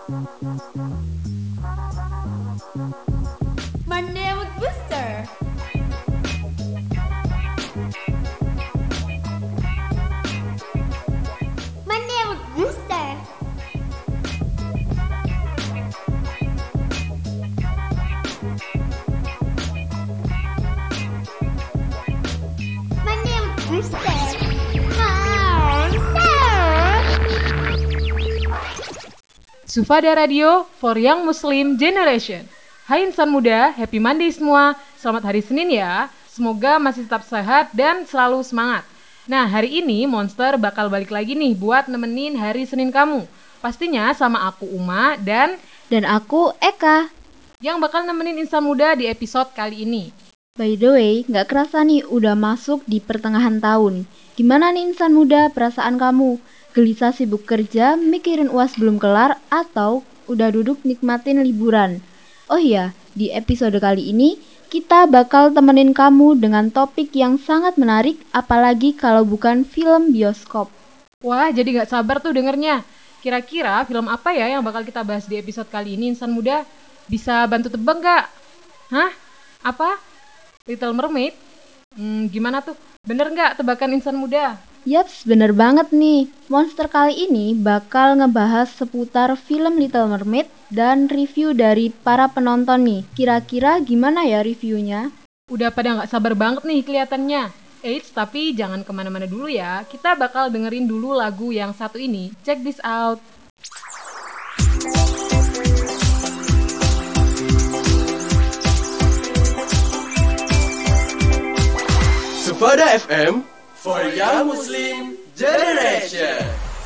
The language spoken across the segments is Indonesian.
Monday Mood Booster. Monday Mood Booster. Monday Mood Booster. Sufada Radio for Young Muslim Generation. Hai insan muda, happy Monday semua. Selamat hari Senin ya. Semoga masih tetap sehat dan selalu semangat. Nah, hari ini Monster bakal balik lagi nih buat nemenin hari Senin kamu. Pastinya sama aku Uma dan aku Eka. yang bakal nemenin insan muda di episode kali ini. By the way, gak kerasa nih udah masuk di pertengahan tahun. Gimana nih insan muda perasaan kamu? Gelisah sibuk kerja, mikirin UAS belum kelar, atau udah duduk nikmatin liburan? Oh iya, di episode kali ini kita bakal temenin kamu dengan topik yang sangat menarik, apalagi kalau bukan film bioskop. Wah, jadi gak sabar tuh dengernya. Kira-kira film apa ya yang bakal kita bahas di episode kali ini insan muda? Bisa bantu tebak gak? Hah? Apa? Little Mermaid? Gimana tuh? Bener gak tebakan insan muda? Yaps, bener banget nih. Monster kali ini bakal ngebahas seputar film Little Mermaid dan review dari para penonton nih. Kira-kira gimana ya reviewnya? Udah pada gak sabar banget nih kelihatannya. Eits, tapi jangan kemana-mana dulu ya. Kita bakal dengerin dulu lagu yang satu ini. Check this out. Sufada FM for Young Muslim Generation.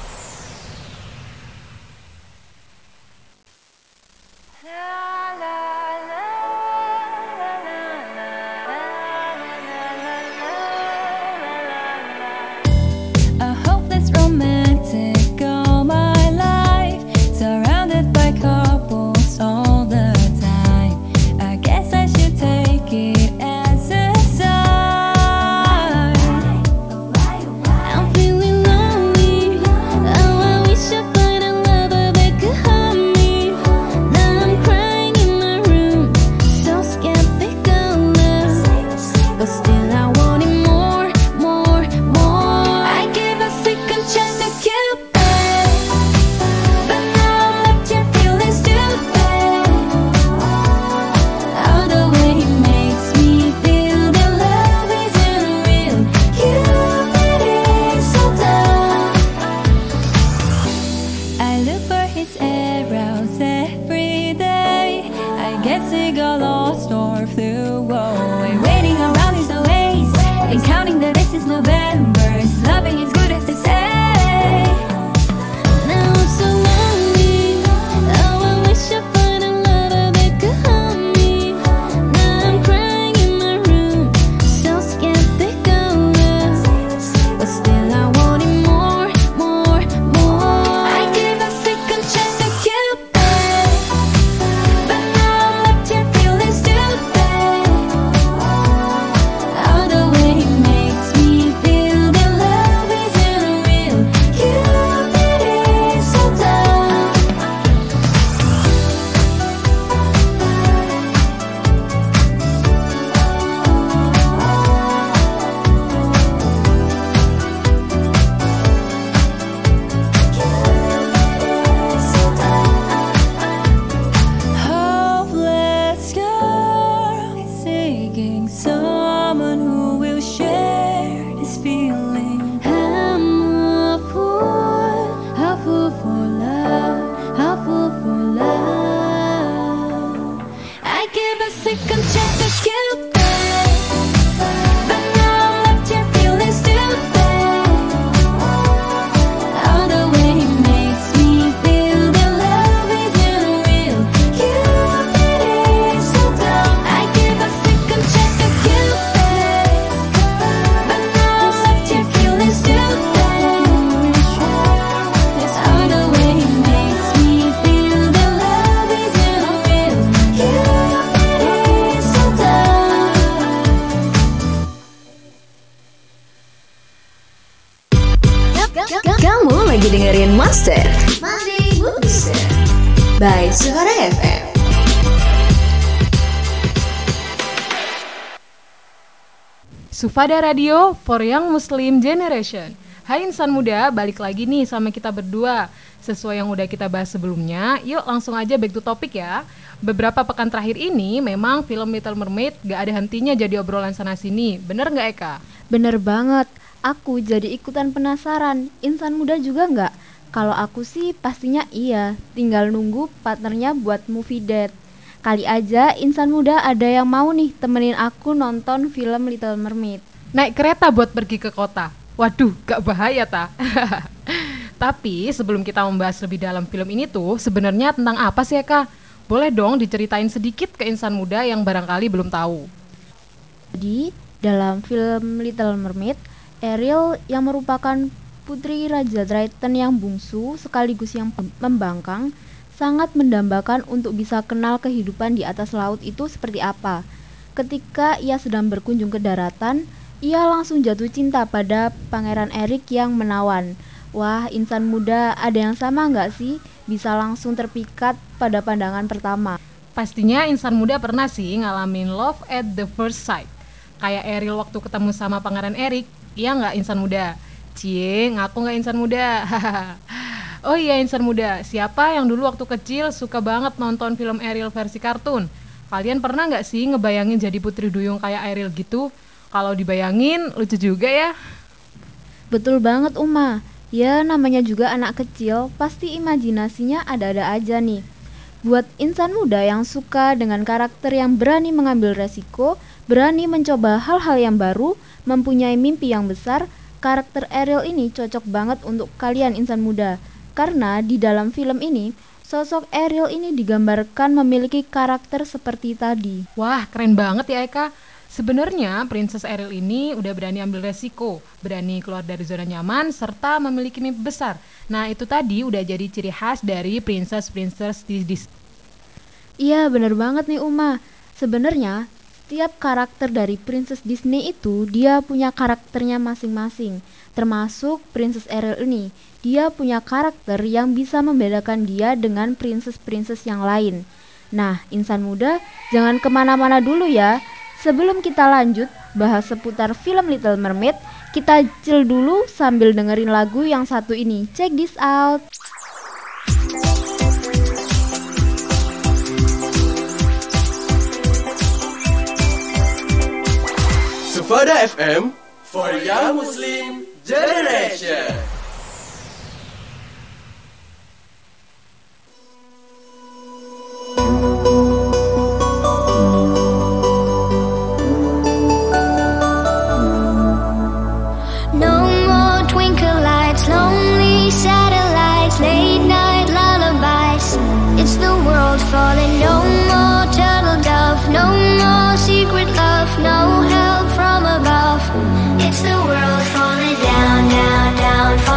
A hopeless romantic all my life, surrounded by couples all the time. I guess I should take it as a sign. I'm feeling lonely. Oh, I wish I find a lover that could help me. Now I'm crying in my room, so skeptical of, but still I want it more, more, more. I give a second chance to Cupid, but now I'm left here feeling stupid. All the way he makes me feel that love isn't real. Cupid is so dumb. I look for his arrows every day. I guess he got lost or flew away. Waiting around is a waste, and counting the days is November. His loving is good as they say. Now I'm so lonely. Oh, I wish I find a lover that could help me. Now I'm crying in my room, so skeptical of, but still I want it more, more, more. I give a second chance to Cupid, but now I'm left here feeling stupid. All the way he makes me feel that love isn't by Suara FM. Sufada Radio for Young Muslim Generation. Hai insan muda, balik lagi nih sama kita berdua. Sesuai yang udah kita bahas sebelumnya, yuk langsung aja back to topic ya. Beberapa pekan terakhir ini memang film Little Mermaid gak ada hentinya jadi obrolan sana-sini. Bener gak Eka? Bener banget, aku jadi ikutan penasaran. Insan muda juga nggak? Kalau aku sih pastinya iya, tinggal nunggu partnernya buat movie date. Kali aja insan muda ada yang mau nih temenin aku nonton film Little Mermaid. Naik kereta buat pergi ke kota. Waduh, gak bahaya ta? Tapi sebelum kita membahas lebih dalam film ini tuh, sebenarnya tentang apa sih Eka? Boleh dong diceritain sedikit ke insan muda yang barangkali belum tahu. Jadi, dalam film Little Mermaid, Ariel yang merupakan putri Raja Triton yang bungsu sekaligus yang membangkang sangat mendambakan untuk bisa kenal kehidupan di atas laut itu seperti apa. Ketika ia sedang berkunjung ke daratan, ia langsung jatuh cinta pada Pangeran Eric yang menawan. Wah, insan muda ada yang sama nggak sih? Bisa langsung terpikat pada pandangan pertama. Pastinya insan muda pernah sih ngalamin love at the first sight. Kayak Ariel waktu ketemu sama Pangeran Eric. Iya nggak insan muda? Cie, ngaku nggak insan muda? Oh iya insan muda, siapa yang dulu waktu kecil suka banget nonton film Ariel versi kartun? Kalian pernah nggak sih ngebayangin jadi putri duyung kayak Ariel gitu? Kalau dibayangin lucu juga ya. Betul banget Uma. Ya namanya juga anak kecil, pasti imajinasinya ada-ada aja nih. Buat insan muda yang suka dengan karakter yang berani mengambil resiko, berani mencoba hal-hal yang baru, mempunyai mimpi yang besar, karakter Ariel ini cocok banget untuk kalian insan muda. Karena di dalam film ini, sosok Ariel ini digambarkan memiliki karakter seperti tadi. Wah, keren banget ya Eka. Sebenarnya Princess Ariel ini udah berani ambil resiko, berani keluar dari zona nyaman, serta memiliki mimpi besar. Nah itu tadi udah jadi ciri khas dari princess-princess di Disney. Iya bener banget nih Uma. Sebenarnya setiap karakter dari Princess Disney itu dia punya karakternya masing-masing. Termasuk Princess Ariel ini. Dia punya karakter yang bisa membedakan dia dengan princess-princess yang lain. Nah insan muda jangan kemana-mana dulu ya. Sebelum kita lanjut bahas seputar film Little Mermaid, kita chill dulu sambil dengerin lagu yang satu ini. Check this out. Sufada FM for Young Muslim Generation. No more twinkle lights, lonely satellites, late night lullabies. It's the world falling. No more turtle dove, no more secret love, no help from above. It's the world falling down, down, down.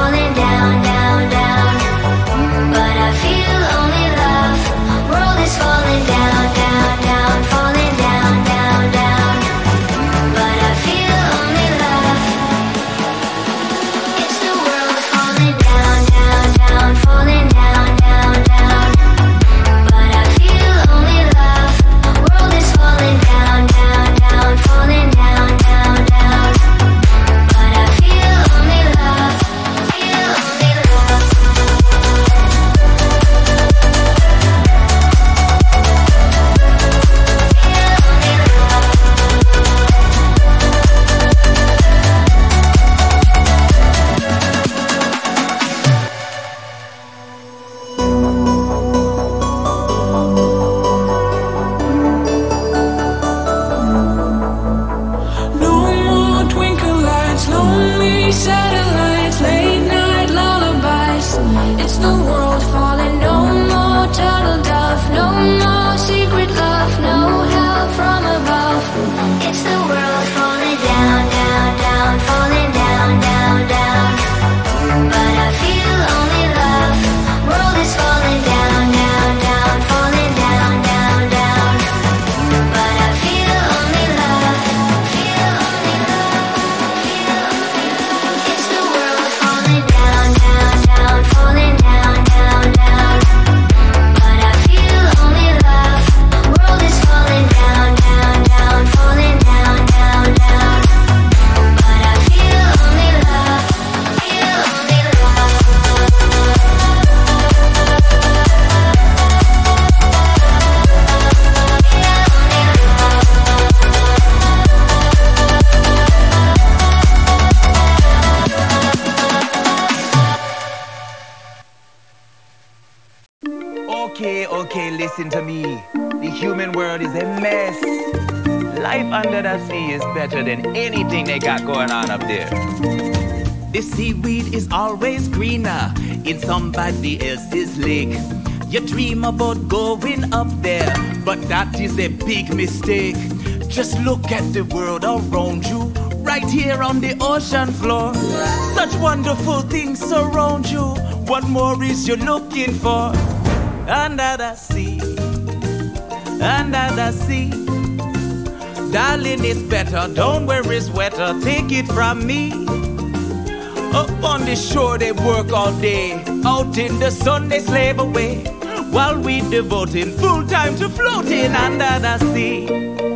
Okay, listen to me. The human world is a mess. Life under the sea is better than anything they got going on up there. The seaweed is always greener in somebody else's lake. You dream about going up there, but that is a big mistake. Just look at the world around you, right here on the ocean floor. Such wonderful things surround you. What more is you looking for? Under the sea, under the sea. Darling, it's better, don't worry, it's wetter. Take it from me. Up on the shore they work all day, out in the sun they slave away, while we devoting full time to floating under the sea.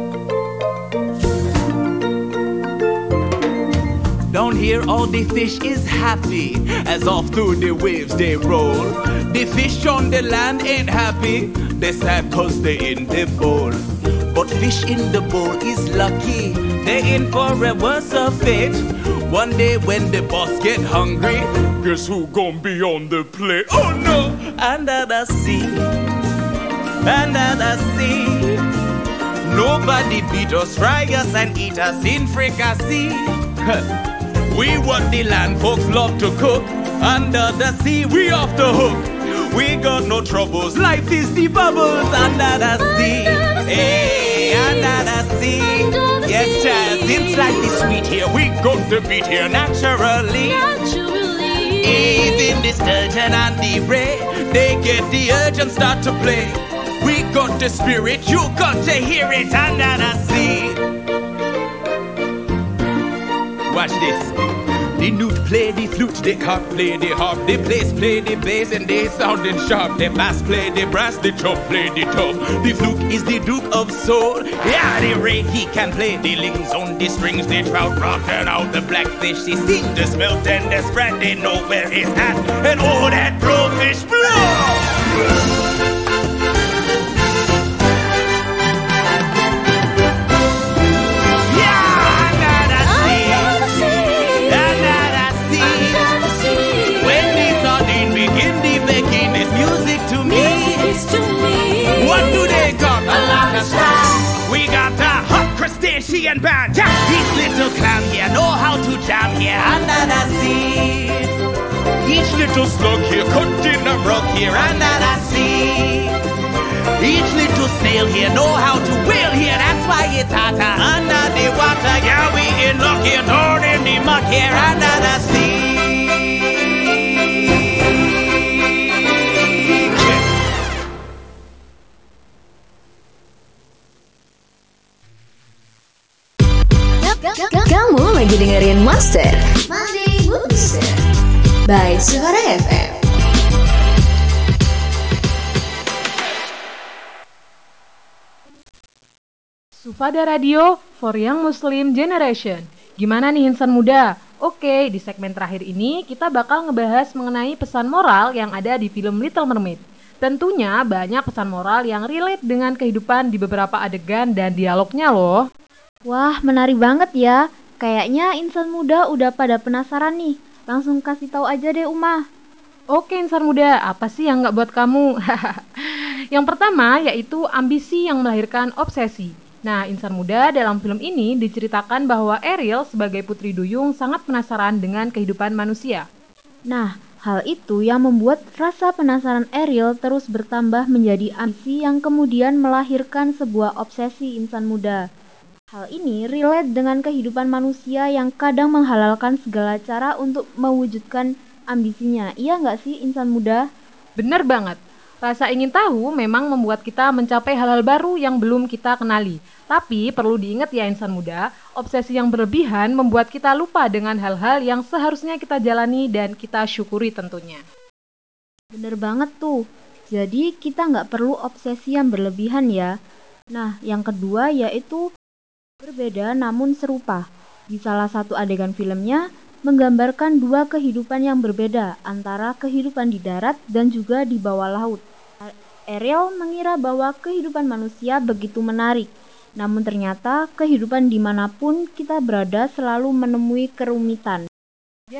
Down here all the fish is happy, as off through the waves they roll. The fish on the land ain't happy, they sad cause they in the bowl. But fish in the bowl is lucky, they in for a worse of fate. One day when the boss get hungry, guess who gon' be on the plate? Oh no! Under the sea, under the sea. Nobody beat us, fry us and eat us in fricassee. We what the land folks love to cook. Under the sea, we off the hook. We got no troubles, life is the bubbles under the sea. Hey, under the sea. Yes, child, things like the sweet here, we got the beat here naturally. Even the sturgeon and the ray, they get the urge and start to play. We got the spirit, you got to hear it under the sea. Watch this. The newt play the flute, the cock play the harp, the bass play the bass and they sounding sharp. The bass play the brass, the chop play the top. The fluke is the duke of soul. Yeah, the ray he can play the lings on the strings. The trout rocking out the blackfish. They sing the smelt and the spread. They know where it's at. And all that blowfish blow. What do they got? A lot of stuff. We got a hot crustacean band. Yeah, these little clown here know how to jam here under the sea. Each little slug here cutting a rug here under the sea. Each little snail here know how to whale here. That's why it's hotter under the water. Yeah, we in luck here, down in the muck here under the sea. Kamu lagi dengerin Monster Monday Booster by Suara FM. Sufada Radio for Young Muslim Generation. Gimana nih insan muda? Oke, di segmen terakhir ini kita bakal ngebahas mengenai pesan moral yang ada di film Little Mermaid. Tentunya banyak pesan moral yang relate dengan kehidupan di beberapa adegan dan dialognya loh. Wah, menarik banget ya. Kayaknya insan muda udah pada penasaran nih. Langsung kasih tahu aja deh, Uma. Oke insan muda, apa sih yang gak buat kamu? Yang pertama yaitu ambisi yang melahirkan obsesi. Nah, insan muda dalam film ini diceritakan bahwa Ariel sebagai putri duyung sangat penasaran dengan kehidupan manusia. Nah, hal itu yang membuat rasa penasaran Ariel terus bertambah menjadi ambisi yang kemudian melahirkan sebuah obsesi insan muda. Hal ini relate dengan kehidupan manusia yang kadang menghalalkan segala cara untuk mewujudkan ambisinya. Iya nggak sih insan muda? Bener banget. Rasa ingin tahu memang membuat kita mencapai hal-hal baru yang belum kita kenali. Tapi perlu diingat ya insan muda, obsesi yang berlebihan membuat kita lupa dengan hal-hal yang seharusnya kita jalani dan kita syukuri tentunya. Bener banget tuh. Jadi kita nggak perlu obsesi yang berlebihan ya. Nah, yang kedua yaitu berbeda namun serupa. Di salah satu adegan filmnya menggambarkan dua kehidupan yang berbeda antara kehidupan di darat dan juga di bawah laut. Ariel mengira bahwa kehidupan manusia begitu menarik, namun ternyata kehidupan dimanapun kita berada selalu menemui kerumitan. Dia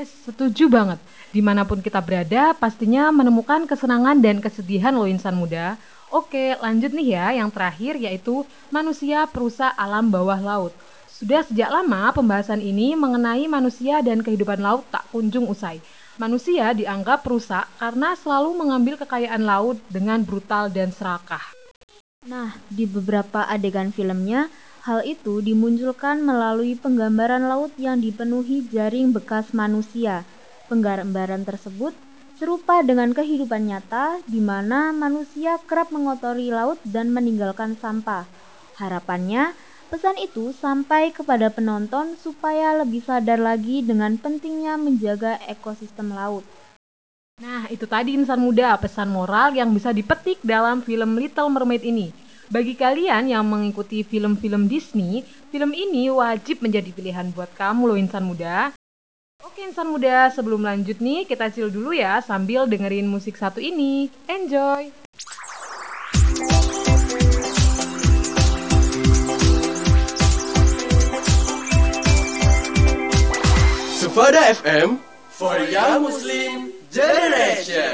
Yes, setuju banget. Dimanapun kita berada, pastinya menemukan kesenangan dan kesedihan loh insan muda. Oke, lanjut nih ya, yang terakhir yaitu manusia perusak alam bawah laut. Sudah sejak lama pembahasan ini mengenai manusia dan kehidupan laut tak kunjung usai. Manusia dianggap perusak karena selalu mengambil kekayaan laut dengan brutal dan serakah. Nah, di beberapa adegan filmnya, hal itu dimunculkan melalui penggambaran laut yang dipenuhi jaring bekas manusia. Penggambaran tersebut serupa dengan kehidupan nyata di mana manusia kerap mengotori laut dan meninggalkan sampah. Harapannya, pesan itu sampai kepada penonton supaya lebih sadar lagi dengan pentingnya menjaga ekosistem laut. Nah, itu tadi insan muda, pesan moral yang bisa dipetik dalam film Little Mermaid ini. Bagi kalian yang mengikuti film-film Disney, film ini wajib menjadi pilihan buat kamu loh insan muda. Oke insan muda, sebelum lanjut nih, kita chill dulu ya sambil dengerin musik satu ini. Enjoy! Sufada FM for Young Muslim Generation.